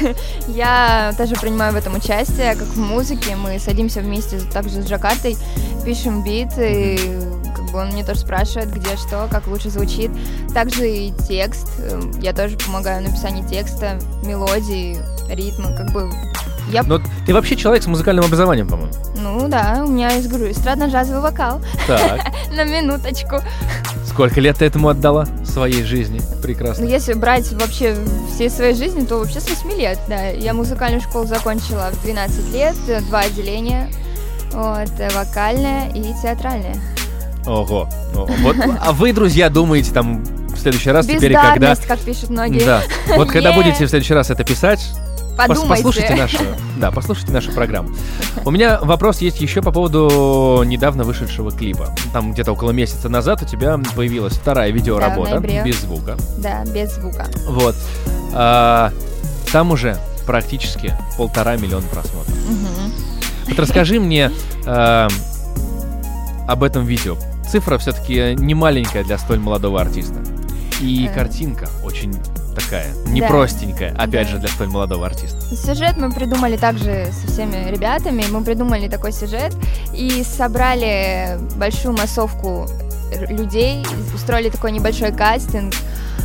я тоже принимаю в этом участие, как в музыке. Мы садимся вместе также с Джакартой, пишем бит, и как бы он мне тоже спрашивает, где что, как лучше звучит. Также и текст. Я тоже помогаю в написании текста, мелодии, ритма, как бы. Но ты вообще человек с музыкальным образованием, по-моему. Ну да, у меня есть, говорю, эстрадно-джазовый вокал. Так. На минуточку. Сколько лет ты этому отдала своей жизни? Прекрасно. Ну, если брать вообще всей своей жизни, то вообще с 8 лет, да. Я музыкальную школу закончила в 12 лет, 2 отделения. Вот, вокальное и театральное. Ого. Вот. А вы, друзья, думаете там в следующий раз теперь, когда... Бездарность, как пишут многие. Да. Вот когда будете в следующий раз это писать... Подумайте. Послушайте нашу программу. У меня вопрос есть еще по поводу недавно вышедшего клипа. Там где-то около месяца назад у тебя появилась вторая видеоработа, без звука. Да, без звука. Вот. Там уже практически 1,5 миллиона просмотров. Вот расскажи мне об этом видео. Цифра все-таки не маленькая для столь молодого артиста. И картинка очень такая, непростенькая, опять же, для столь молодого артиста. Сюжет мы придумали также со всеми ребятами. Мы придумали такой сюжет и собрали большую массовку людей, устроили такой небольшой кастинг,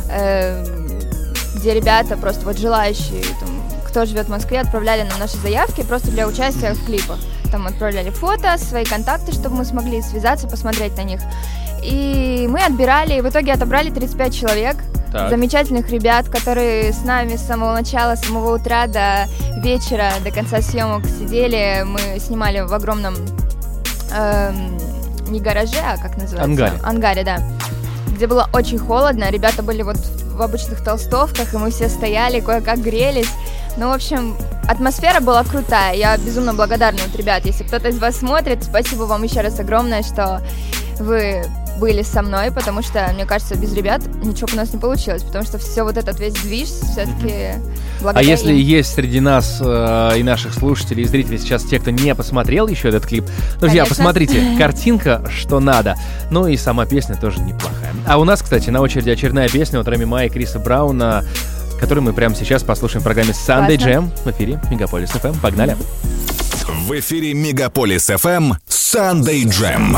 где ребята, просто вот желающие, там, кто живет в Москве, отправляли нам наши заявки просто для участия в клипах. Там отправляли фото, свои контакты, чтобы мы смогли связаться, посмотреть на них. И мы отбирали, и в итоге отобрали 35 человек. Так. Замечательных ребят, которые с нами с самого начала, с самого утра до вечера, до конца съемок сидели. Мы снимали в огромном, не гараже, а как называется? Ангаре, да. Где было очень холодно, ребята были вот в обычных толстовках, и мы все стояли, кое-как грелись. Ну, в общем, атмосфера была крутая. Я безумно благодарна, вот, ребят, если кто-то из вас смотрит, спасибо вам еще раз огромное, что вы были со мной, потому что, мне кажется, без ребят ничего бы у нас не получилось, потому что все вот этот весь движ все-таки благодаря А если им. есть среди нас и наших слушателей, и зрителей сейчас те, кто не посмотрел еще этот клип, друзья, Конечно. посмотрите, картинка, что надо. Ну и сама песня тоже неплохая. А у нас, кстати, на очереди очередная песня от Рэми Ма и Криса Брауна, которую мы прямо сейчас послушаем в программе Sunday Jam в эфире Мегаполис FM. Погнали! В эфире Мегаполис FM Sunday Jam.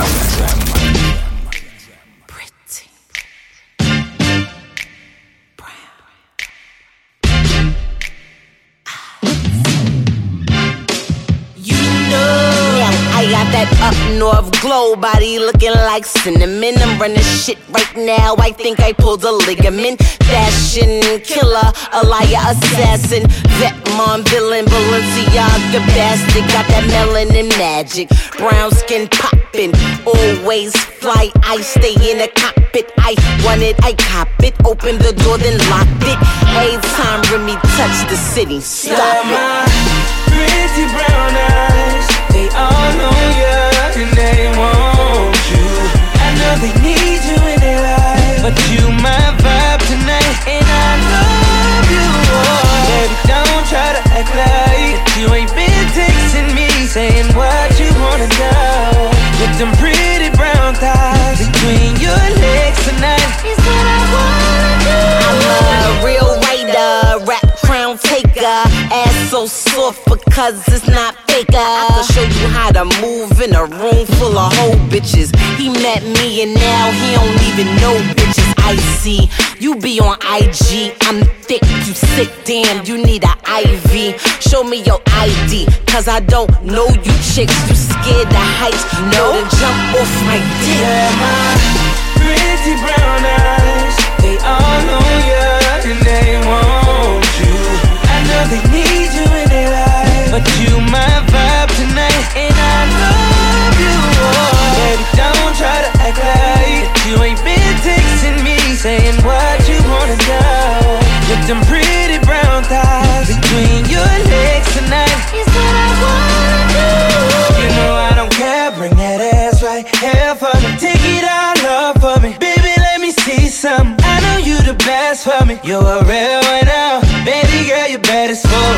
That up north glow body looking like cinnamon. I'm running shit right now. I think I pulled a ligament. Fashion killer, a liar, assassin, vet mom, villain, Balenciaga bastard. Got that melanin magic, brown skin poppin'. Always fly, I stay in the cockpit. I want it, I cop it. Open the door, then lock it. Every time Remy touch the city, stop it. Pretty brown eyes, they all know you and they want you. I know they need you in their life, but you my vibe tonight, and I love you. Baby, don't try to act like you ain't been texting me, saying what you wanna know. With them pretty brown thighs between your legs tonight is what I wanna do. I'm a real writer, rap crown taker. Ass so soft because it's not faker. I can show you how to move in a room full of whole bitches. He met me and now he don't even know bitches. I see you be on IG. I'm thick, you sick, damn, you need an IV. Show me your ID, cause I don't know you chicks. You scared the heights, no, then jump off my dick. Yeah, my pretty brown eyes, they all know you and they want you. I know they need you in their life, but you my vibe tonight, and I love you. Baby, don't try to act like you ain't been texting me, saying what you wanna know. With them pretty brown thighs between your legs tonight is what I wanna do. You know I don't care, bring that ass right here for me. Take it all off for me, baby, let me see some. I know you the best for me, you're a real winner. Baby girl, you better slow.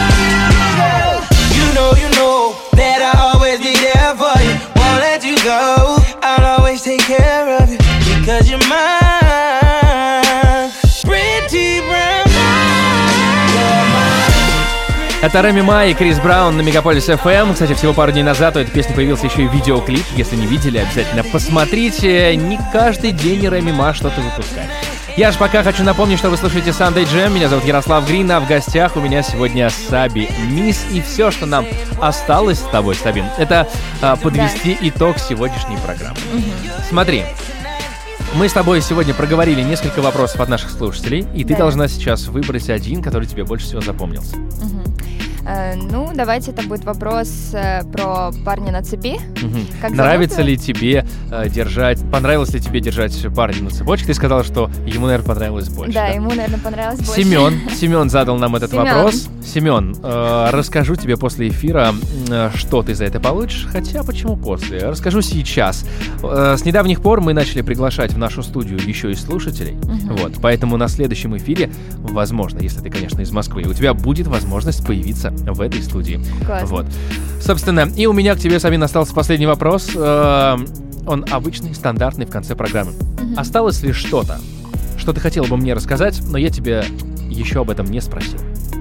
You know that I'll always be there for you. Won't let you go, I'll always take care of you, because you're mine. Pretty brown eyes. Это Рэми Ма и Крис Браун на Мегаполис FM. Кстати, всего пару дней назад у этой песни появился еще и видеоклип. Если не видели, обязательно посмотрите. Не каждый день Рэми Ма что-то выпускает. Я же пока хочу напомнить, что вы слушаете Sunday Jam. Меня зовут Ярослав Грин, а в гостях у меня сегодня Саби Мисс. И все, что нам осталось с тобой, Сабин, это подвести итог сегодняшней программы. Смотри, мы с тобой сегодня проговорили несколько вопросов от наших слушателей, и ты должна сейчас выбрать один, который тебе больше всего запомнился. Ну, давайте это будет вопрос про парня на цепи. Как Нравится зовут ли тебе понравилось ли тебе держать парня на цепочке? Ты сказала, что ему, наверное, понравилось больше. Да, ему, наверное, понравилось больше. Семен задал нам этот вопрос. Семен, расскажу тебе после эфира, что ты за это получишь. Хотя, почему после? Расскажу сейчас. С недавних пор мы начали приглашать в нашу студию еще и слушателей. Вот, поэтому на следующем эфире, возможно, если ты, конечно, из Москвы, у тебя будет возможность появиться в этой студии. Классно. Вот. Собственно, и у меня к тебе, Сабин, остался последний вопрос. Он обычный, стандартный в конце программы. Осталось ли что-то, что ты хотела бы мне рассказать, но я тебя еще об этом не спросил?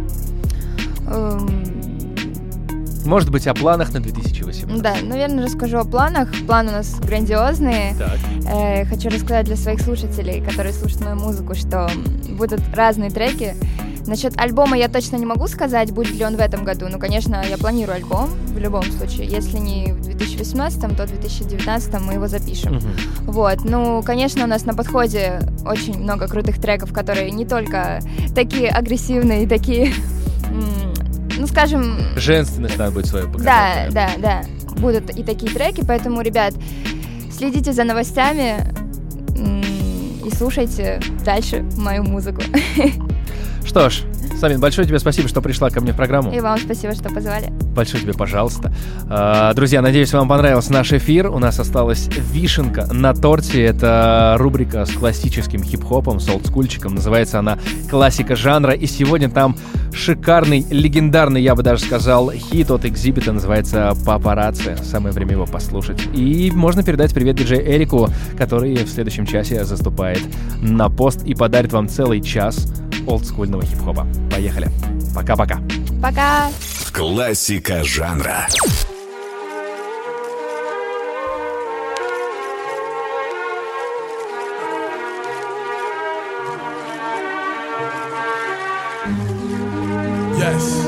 Может быть, о планах на 2018? Да, наверное, расскажу о планах. Планы у нас грандиозные. Хочу рассказать для своих слушателей, которые слушают мою музыку, что будут разные треки. Насчет альбома я точно не могу сказать, будет ли он в этом году. Но, конечно, я планирую альбом в любом случае. Если не в 2018, то в 2019 мы его запишем. Вот. Ну, конечно, у нас на подходе очень много крутых треков, которые не только такие агрессивные, такие... Ну, скажем... Женственность надо будет свою показать. Да. Будут и такие треки, поэтому, ребят, следите за новостями и слушайте дальше мою музыку. Что ж, Самин, большое тебе спасибо, что пришла ко мне в программу. И вам спасибо, что позвали. Большое тебе, пожалуйста. Друзья, надеюсь, вам понравился наш эфир. У нас осталась вишенка на торте. Это рубрика с классическим хип-хопом, с олдскульчиком. Называется она «Классика жанра». И сегодня там шикарный, легендарный, я бы даже сказал, хит от Экзибита. Называется «Папарацци». Самое время его послушать. И можно передать привет диджею Эрику, который в следующем часе заступает на пост и подарит вам целый час олдскульного хип-хопа. Поехали. Пока-пока. Пока. Классика жанра. Yes,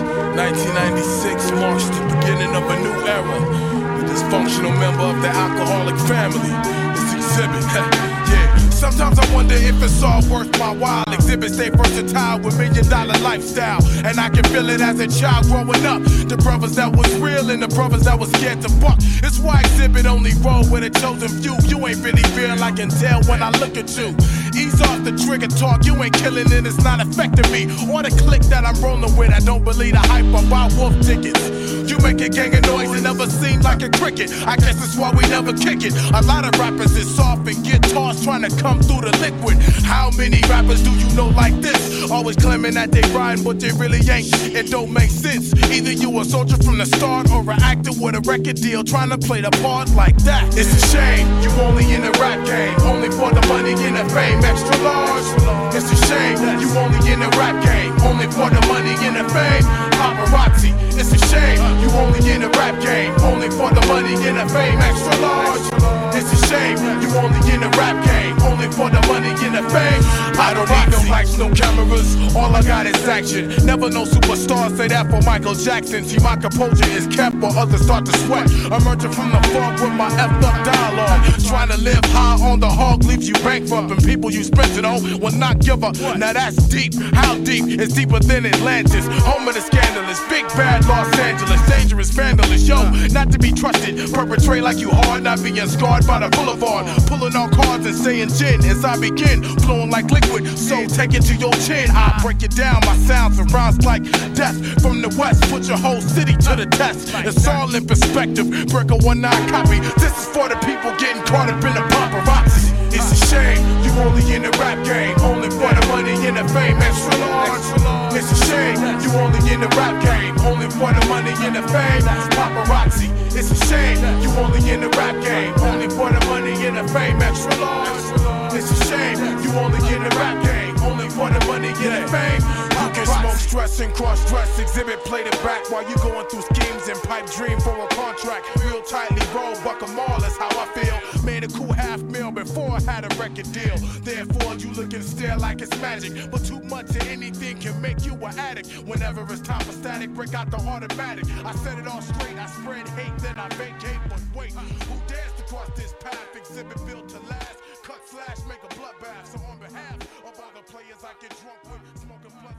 1996 marks the beginning of a new era. The dysfunctional member of the alcoholic family is Exhibit. Yeah. Sometimes I wonder if it's all worth my while. Exhibit stay versatile with $1 million lifestyle. And I can feel it as a child growing up. The brothers that was real and the brothers that was scared to fuck. It's why Exhibit only roll with a chosen few. You ain't really real, I can tell when I look at you. Ease off the trigger talk, you ain't killing it, it's not affecting me. Or the click that I'm rolling with, I don't believe the hype about wolf tickets. You make a gang of noise and never seem like a cricket. I guess that's why we never kick it. A lot of rappers is soft and get tossed trying to come through the liquid. How many rappers do you know like this? Always claiming that they rhyme, but they really ain't. It don't make sense. Either you a soldier from the start or an actor with a record deal trying to play the part like that. It's a shame you only in the rap game, only for the money and the fame. Extra large. It's a shame you only in the rap game, only for the money and the fame. Paparazzi. It's a shame you only in the rap game, only for the money and the fame. Extra large. It's a shame you only in the rap game, only for the money and the fame. I don't need no lights, no cameras, all I got is action. Never no superstars say that for Michael Jackson. See, my composure is kept while others start to sweat. Emerging from the fog with my effed up dialogue. Trying to live high on the hog leaves you bankrupt, and people you spent it on will not give up. Now that's deep. How deep? It's deeper than Atlantis. Home of the scandalous, big bad Los Angeles, dangerous vandalous. Yo, not to be trusted. Perpetrate like you hard, not being scarred by the boulevard. Pulling on cards and saying gin as I begin, flowing like liquid. So take it to your chin. I break it down. My sounds and rhymes like death from the west. Put your whole city to the test. It's all in perspective. Break a 1-9 copy. This is for the people getting caught up in the paparazzi. It's a shame you only in the rap game, only for the money and the fame. Extra large. It's a shame you only in the rap game, only for the money and the fame. Paparazzi. It's a shame you only in the rap game, only for the money and the fame. Extra large. It's a shame you only in the rap game, only for the money and the fame. You can smoke stress and cross-dress, Exhibit played it back while you going through schemes and pipe dream for a contract. Real tightly roll, buck 'em all, that's how I feel. Made a cool $500,000 before I had a record deal. Therefore you look and stare like it's magic, but too much of anything can make you an addict. Whenever it's time for static, break out the automatic. I set it all straight, I spread hate, then I vacate. But wait, who dares to cross this path? Exhibit built to last. Cut slash, make a bloodbath. So on behalf of all the players I get drunk with, smoking blood.